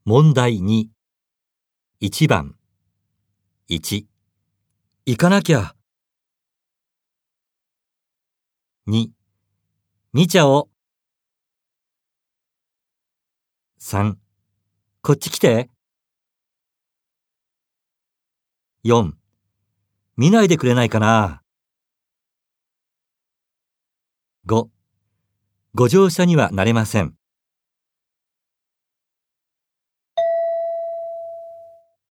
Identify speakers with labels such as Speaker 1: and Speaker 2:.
Speaker 1: 問題2。1番。1、
Speaker 2: 行かなきゃ。
Speaker 1: 2、見ちゃお。3、こっち来て。4、見ないでくれないかな。5、ご乗車にはなれません。